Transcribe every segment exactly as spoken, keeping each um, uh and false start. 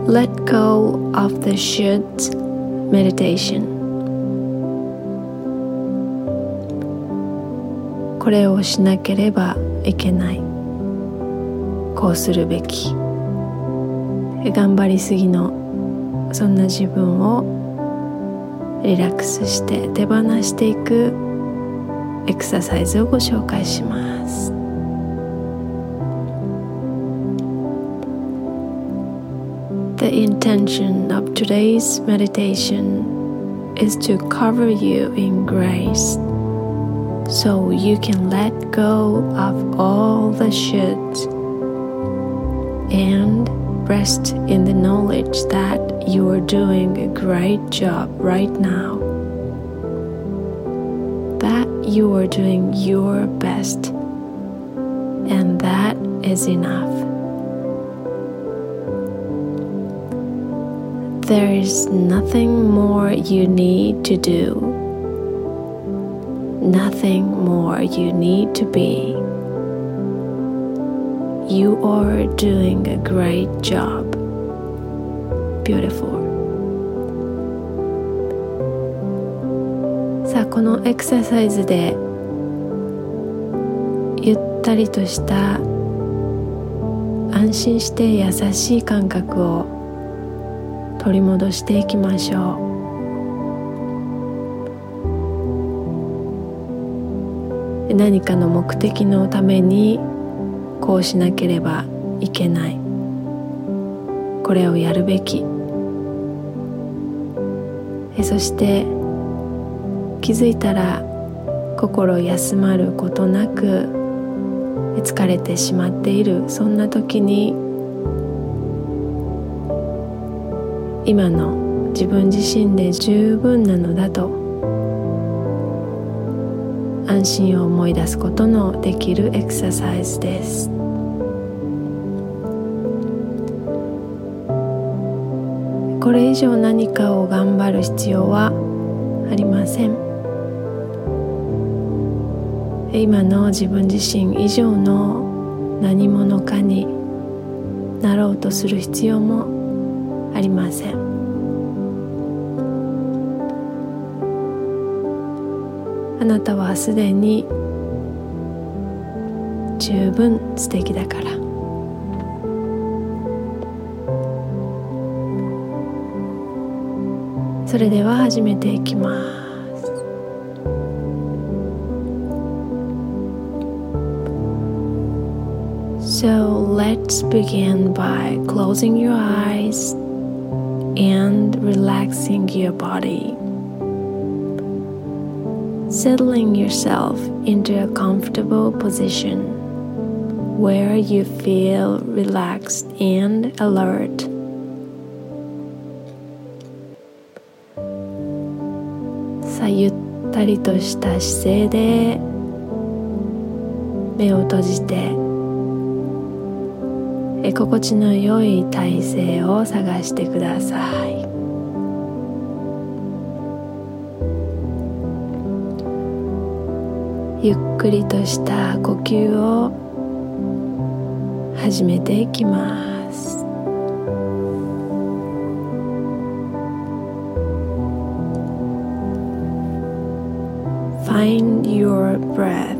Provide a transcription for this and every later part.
Let go of the should meditation. これをしなければいけない、こうするべき、頑張りすぎのそんな自分をリラックスして手放していくエクササイズをご紹介します。The intention of today's meditation is to cover you in grace, so you can let go of all the shoulds and rest in the knowledge that you are doing a great job right now, that you are doing your best, and that is enough.There is nothing more you need to do, nothing more you need to be. You are doing a great job. Beautiful. さあ、このエクササイズでゆったりとした安心して優しい感覚を取り戻していきましょう。何かの目的のためにこうしなければいけない、これをやるべき、そして気づいたら心休まることなく疲れてしまっている、そんな時に今の自分自身で十分なのだと安心を思い出すことのできるエクササイズです。これ以上何かを頑張る必要はありません。今の自分自身以上の何者かになろうとする必要もありません。あなたはすでに十分素敵だから。それでは始めていきます。So let's begin by closing your eyes and relaxing your body, settling yourself into a comfortable position where you feel relaxed and alert. さあ、ゆったりとした姿勢で目を閉じてえ心地の良い体勢を探してください。ゆっくりとした呼吸を始めていきます。Find your breath.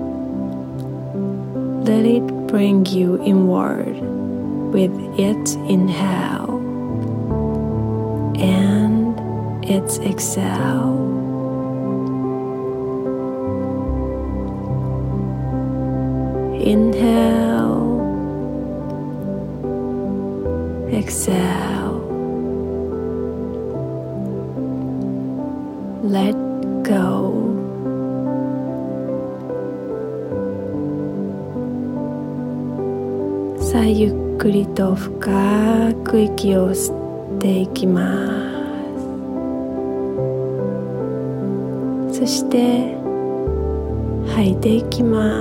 Let it bring you inward with its inhale and its exhale. Inhale, exhale. Let go. さあ、ゆっくりと深く息を吸っていきます。そして吐いていきます。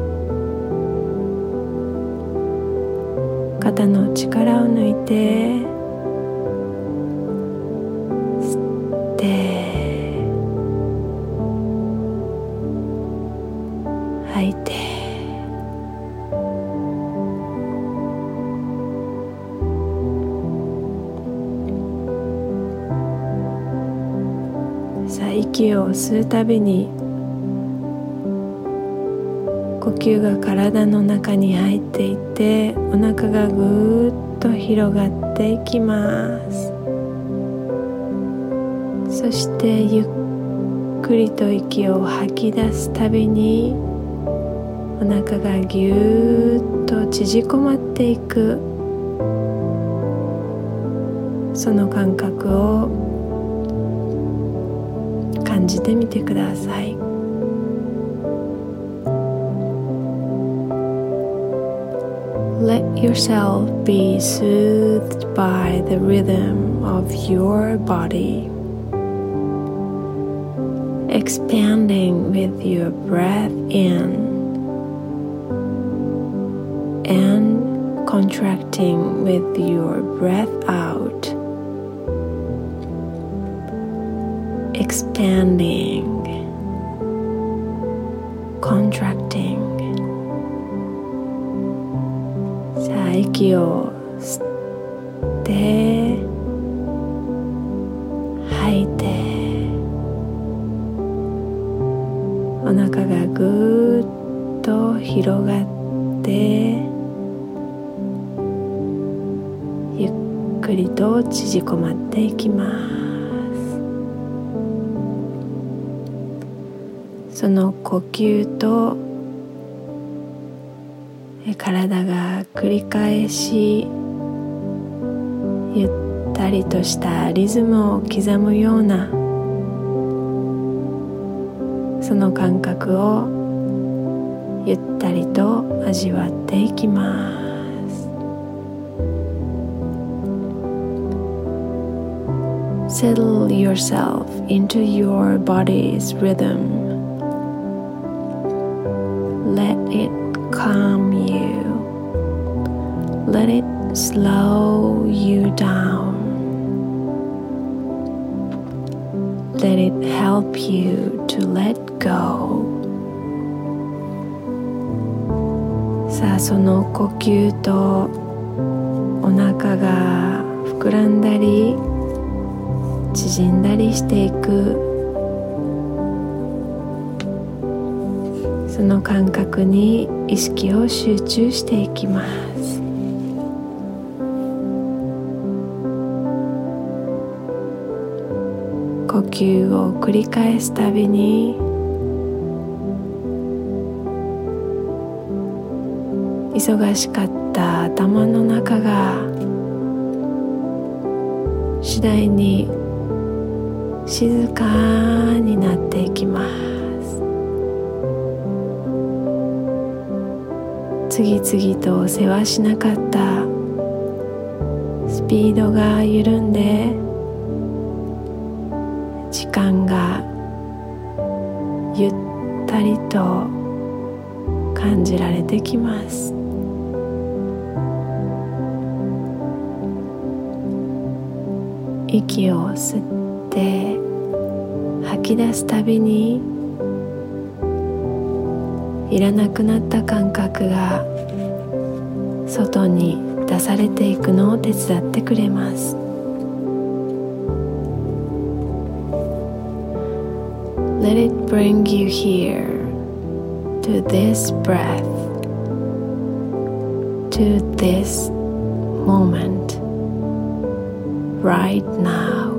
肩の力を抜いて吸って吐いて息を吸うたびに呼吸が体の中に入っていってお腹がぐーっと広がっていきます。そしてゆっくりと息を吐き出すたびにお腹がぎゅーっと縮こまっていく、その感覚を感じてみてください。Let yourself be soothed by the rhythm of your body, expanding with your breath in and contracting with your breath out. Expanding, contracting. さあ、息を吸って吐いて、お腹がぐーっと広がってゆっくりと縮こまっていきます。その呼吸と体が繰り返しゆったりとしたリズムを刻むようなその感覚をゆったりと味わっていきます。 Settle yourself into your body's rhythm. Let it calm you. Let it slow you down. Let it help you to let go. さあ、その呼吸とお腹が膨らんだり縮んだりしていくその感覚に意識を集中していきます。呼吸を繰り返すたびに忙しかった頭の中が次第に静かになっていきます。次々と世話しなかったスピードが緩んで時間がゆったりと感じられてきます。息を吸って吐き出すたびにいらなくなった感覚が外に出されていくのを手伝ってくれます。Let it bring you here to this breath, to this moment, right now.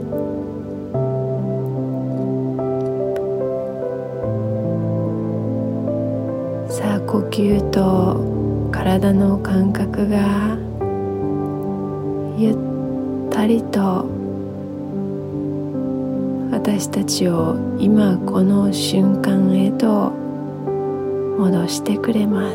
さあ、呼吸と体の感覚がゆったりと私たちを今この瞬間へと戻してくれます。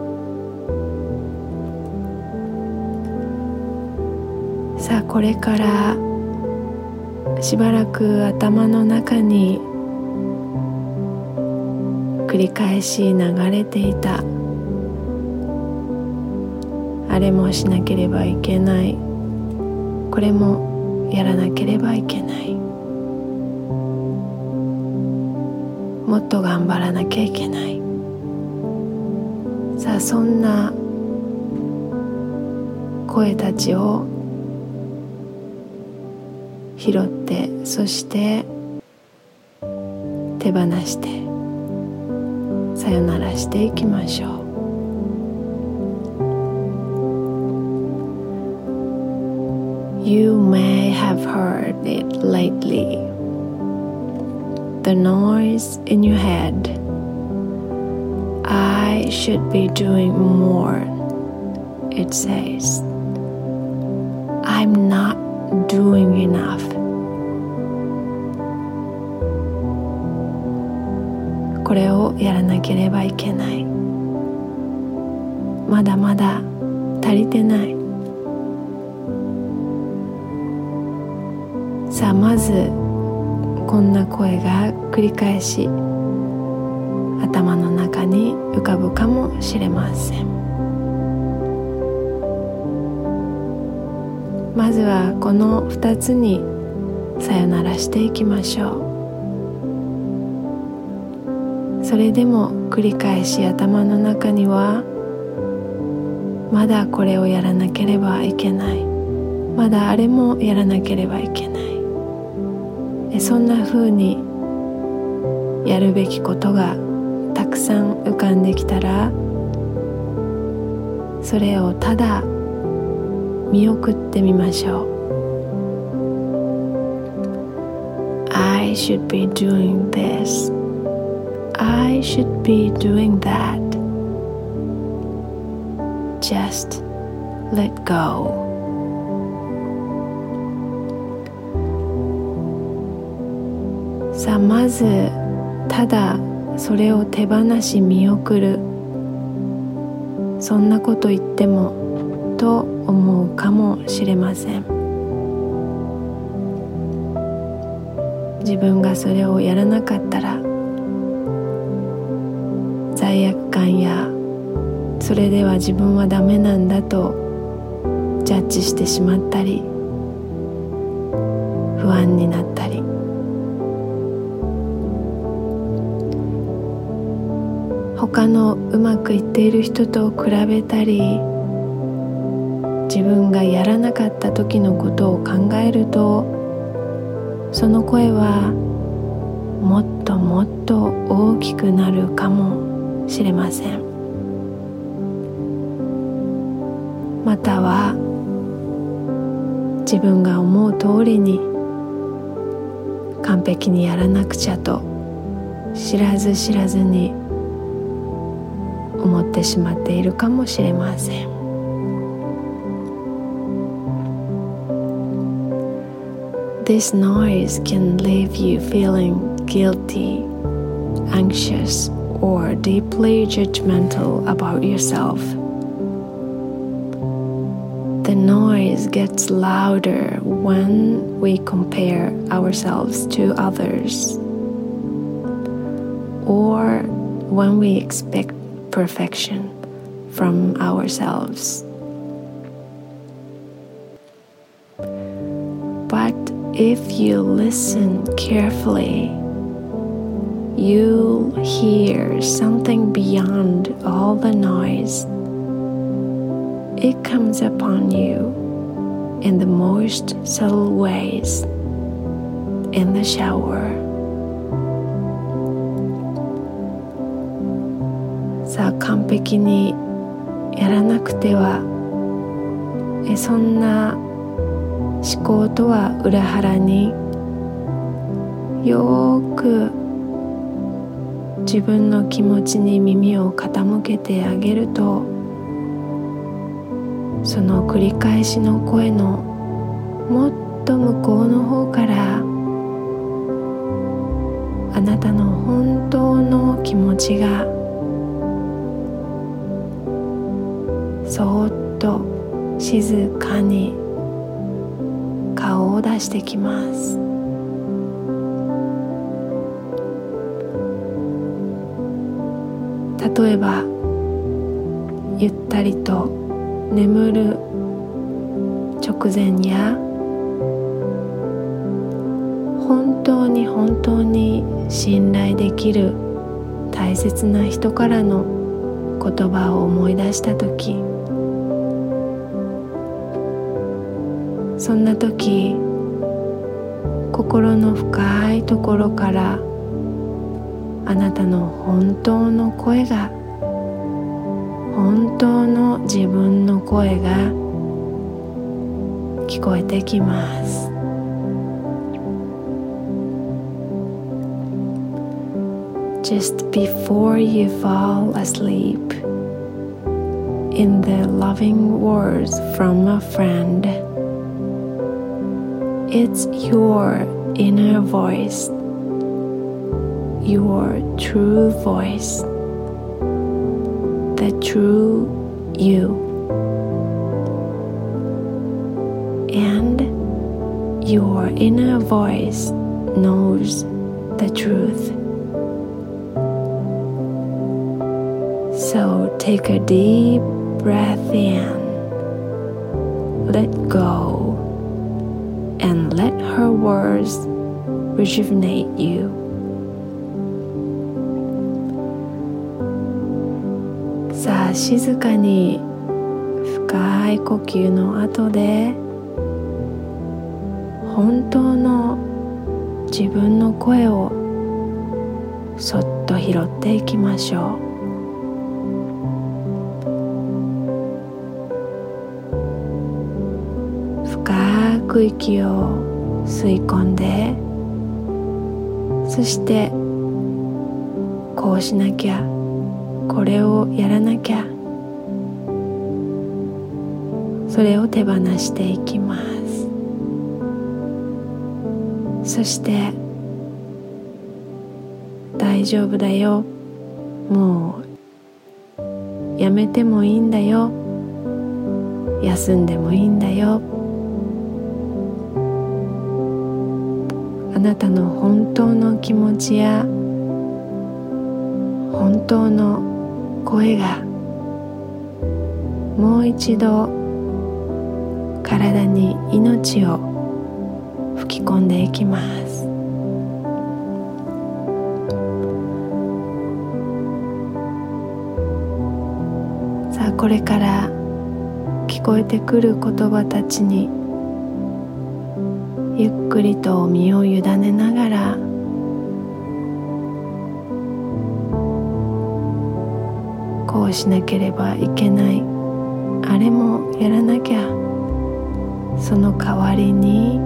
さあ、これからしばらく頭の中に繰り返し流れていたあれもしなければいけない、これもやらなければいけない、もっと頑張らなきゃいけない、さあそんな声たちを拾って、そして手放してさよならしていきましょう。You may have heard it lately. The noise in your head. I should be doing more. It says, I'm not doing enough. これをやらなければいけない。まだまだ足りてない。さあまずこんな声が繰り返し頭の中に浮かぶかもしれません。まずはこのふたつにさよならしていきましょう。それでも繰り返し頭の中にはまだこれをやらなければいけない、まだあれもやらなければいけない、そんな風にやるべきことがたくさん浮かんできたら、それをただ見送ってみましょう。 I should be doing this. I should be doing that. Just let go.さあまずただそれを手放し見送る、そんなこと言ってもと思うかもしれません。自分がそれをやらなかったら罪悪感やそれでは自分はダメなんだとジャッジしてしまったり、不安になったり、他のうまくいっている人と比べたり、自分がやらなかった時のことを考えると、その声はもっともっと大きくなるかもしれません。または自分が思う通りに完璧にやらなくちゃと知らず知らずに思ってしまっているかもしれません。This noise can leave you feeling guilty, anxious, or deeply judgmental about yourself. The noise gets louder when we compare ourselves to others, or when we expect perfection from ourselves. But if you listen carefully, you'll hear something beyond all the noise. It comes upon you in the most subtle ways, in the shower. さあ完璧にやらなくては、えそんな思考とは裏腹によーく自分の気持ちに耳を傾けてあげると、その繰り返しの声のもっと向こうの方からあなたの本当の気持ちがそーっと静かに顔を出してきます。例えばゆったりと眠る直前や、本当に本当に信頼できる大切な人からの言葉を思い出したとき、そんなとき心の深いところからあなたの本当の声が、本当の自分の声が聞こえてきます。Just before you fall asleep, in the loving words from a friend, it's your inner voice, your true voice, the true you, and your inner voice knows the truth. So take a deep breath in, let go, and let her words rejuvenate you. さあ、静かに深い呼吸の後で本当の自分の声をそっと拾っていきましょう。深く息を吸い込んで、そしてこうしなきゃ、これをやらなきゃ、それを手放していきます。そして大丈夫だよ、もうやめてもいいんだよ、休んでもいいんだよ、あなたの本当の気持ちや本当の声がもう一度体に命を吹き込んでいきます。さあ、これから聞こえてくる言葉たちにゆっくりと身を委ねながら、こうしなければいけない、あれもやらなきゃ、その代わりに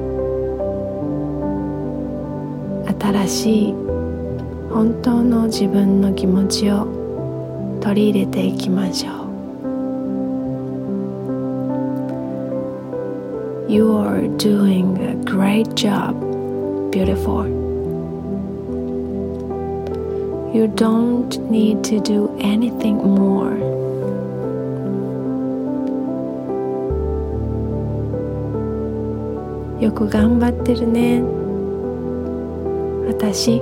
新しい本当の自分の気持ちを取り入れていきましょう。You're doing a great job, beautiful. You don't need to do anything more. よく頑張ってるね、私。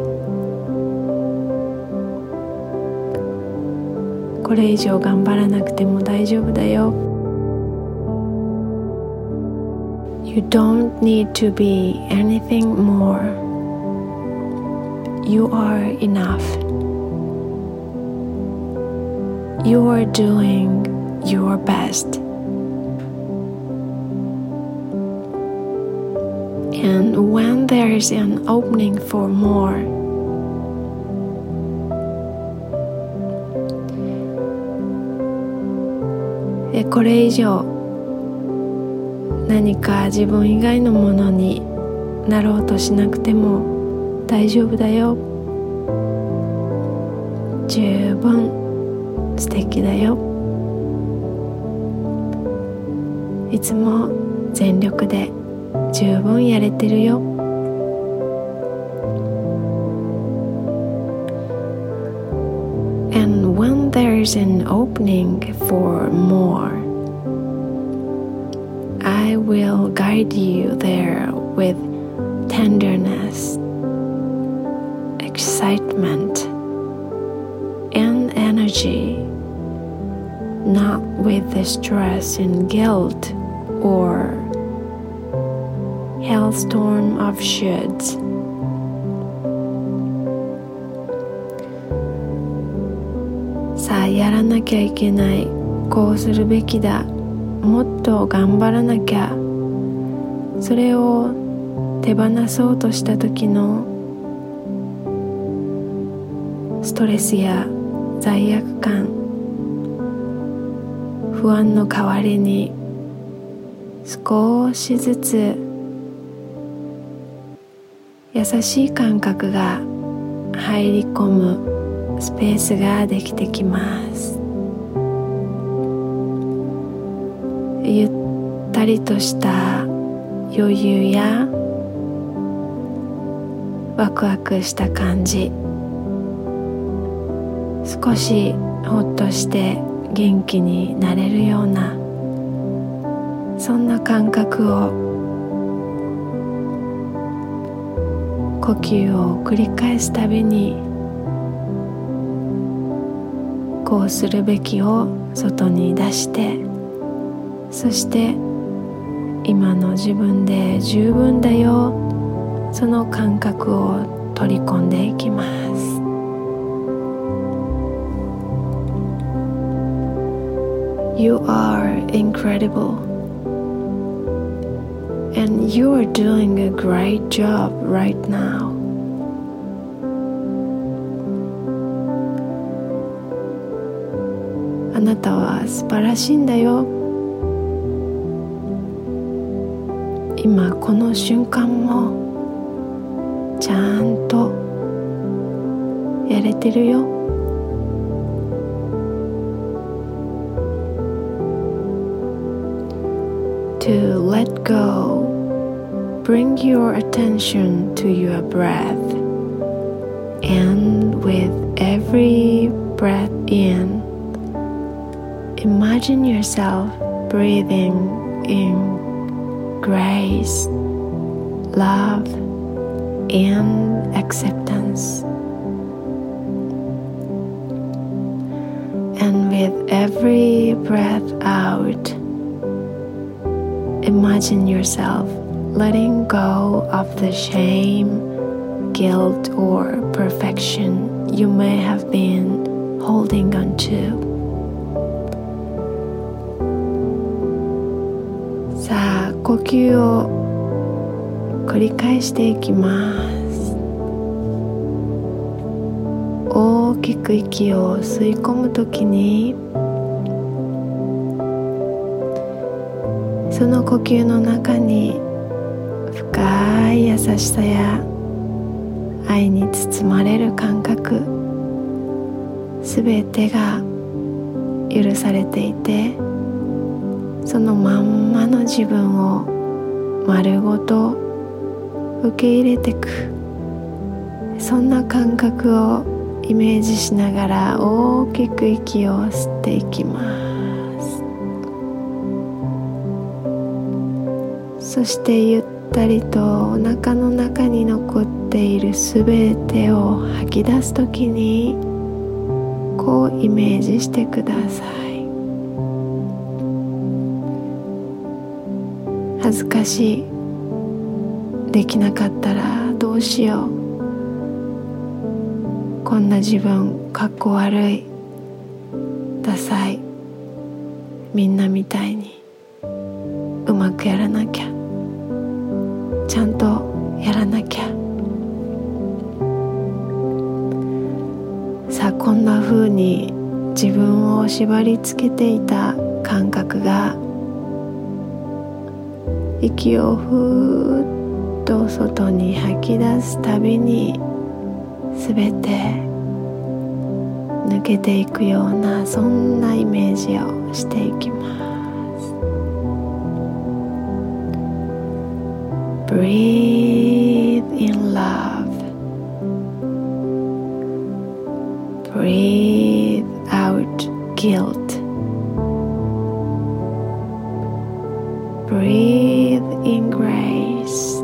これ以上頑張らなくても大丈夫だよ。You don't need to be anything more. You are enough. You are doing your best. And when there is an opening for more,えこれ以上何か自分以外のものになろうとしなくても大丈夫だよ。十分素敵だよ。いつも全力で十分やれてるよ。And when there's an opening for more, I will guide you there with tenderness, excitement, and energy, not with the stress and guilt or hailstorm of shoulds. さあ、やらなきゃいけない、こうするべきだ、もっと頑張らなきゃ、それを手放そうとした時のストレスや罪悪感、不安の代わりに少しずつ優しい感覚が入り込むスペースができてきます。ゆったりとした余裕やワクワクした感じ、少しほっとして元気になれるような、そんな感覚を呼吸を繰り返すたびに、こうするべきを外に出して、そして今の自分で十分だよ、その感覚を取り込んでいきます。You are incredible, and you are doing a great job right now. あなたは素晴らしいんだよ。今この瞬間もちゃんとやれてるよ。To let go, bring your attention to your breath, and with every breath in, imagine yourself breathing in grace, love, and acceptance. And with every breath out, imagine yourself letting go of the shame, guilt, or perfection you may have been holding on to. さあ、呼吸を繰り返していきます。大きく息を吸い込むときに、その呼吸の中に深い優しさや愛に包まれる感覚、すべてが許されていて、そのまんまの自分を丸ごと受け入れていく、そんな感覚をイメージしながら大きく息を吸っていきます。そしてゆったりとお腹の中に残っているすべてを吐き出すときに、こうイメージしてください。恥ずかしい、できなかったらどうしよう、こんな自分かっこ悪い、ダサい、みんなみたいにうまくやらなきゃ、ちゃんとやらなきゃ。さあ、こんな風に自分を縛り付けていた感覚が、息をふーっと外に吐き出すたびに、すべて抜けていくような、そんなイメージをしていきます。Breathe in love. Breathe out guilt.Breathe in grace.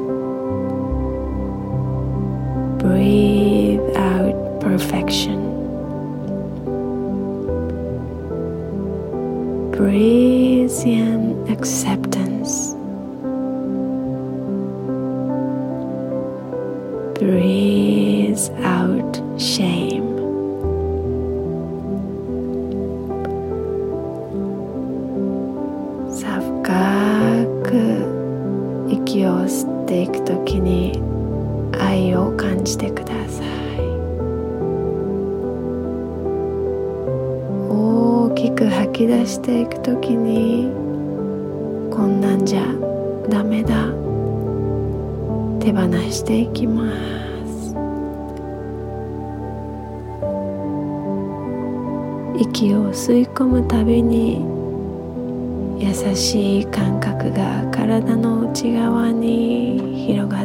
Breathe out perfection. Breathe in acceptance. Breathe out shame. さあ、深く息を吸っていくときに愛を感じてください。 く吐き出していくときに、こんなんじゃダメだ、手放していきます。息を吸い込むたびに優しい感覚が体の内側に広がって、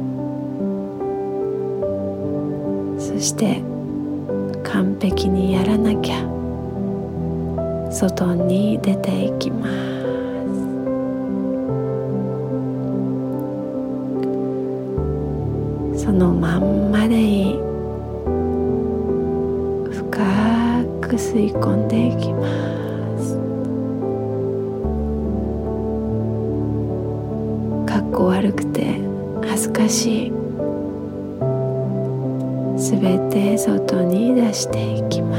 そして完璧にやらなきゃ外に出ていきます。そのまんまでいい。深く吸い込んでいきます。かっこ悪くて恥ずかしい、すべて外に出していきます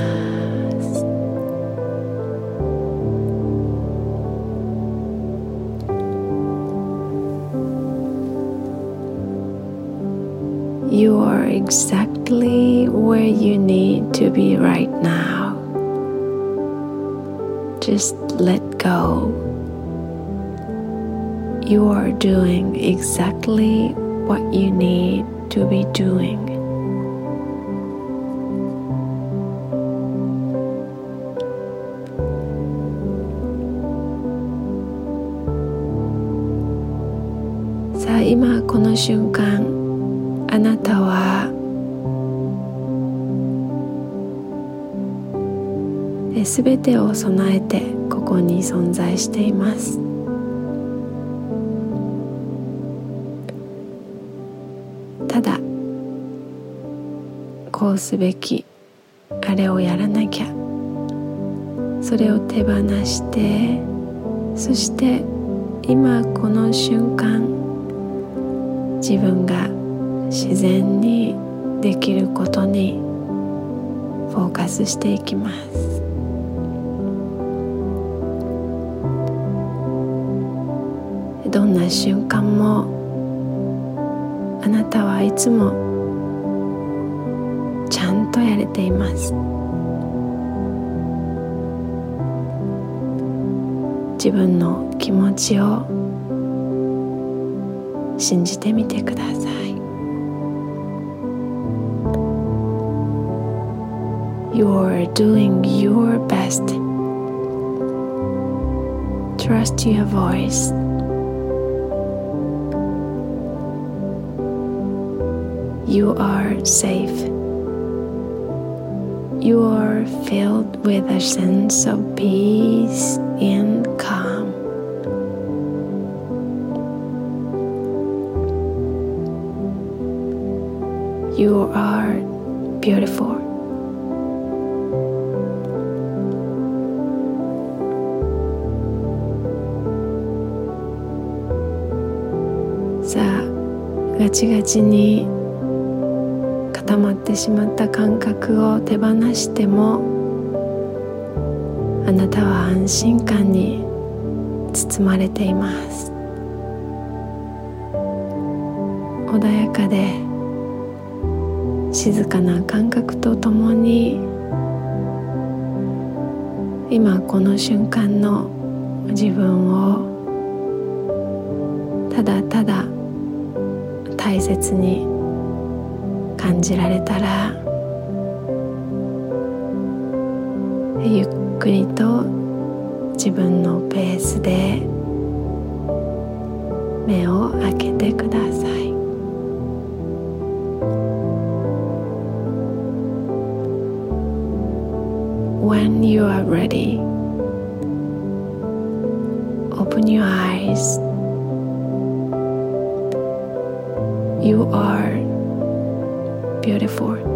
。You are exactly where you need to be right now. Just let go. You are doing exactly what you need to be doing. Saあ今この瞬間、あなたはすべてを備えてここに存在しています。ただこうすべき、あれをやらなきゃ、それを手放して、そして今この瞬間、自分が自然にできることにフォーカスしていきます。どんな瞬間もあなたはいつもちゃんとやれています。自分の気持ちを信じてみてください。You're doing your best. Trust your voice. You are safe. You are filled with a sense of peace and calm. You are beautiful.さあ、ガチガチに固まってしまった感覚を手放しても、あなたは安心感に包まれています。穏やかで静かな感覚とともに、今この瞬間の自分をただただ大切に感じられたら、ゆっくりと自分のペースで目を開けてください。When you are ready, open your eyes. You are beautiful.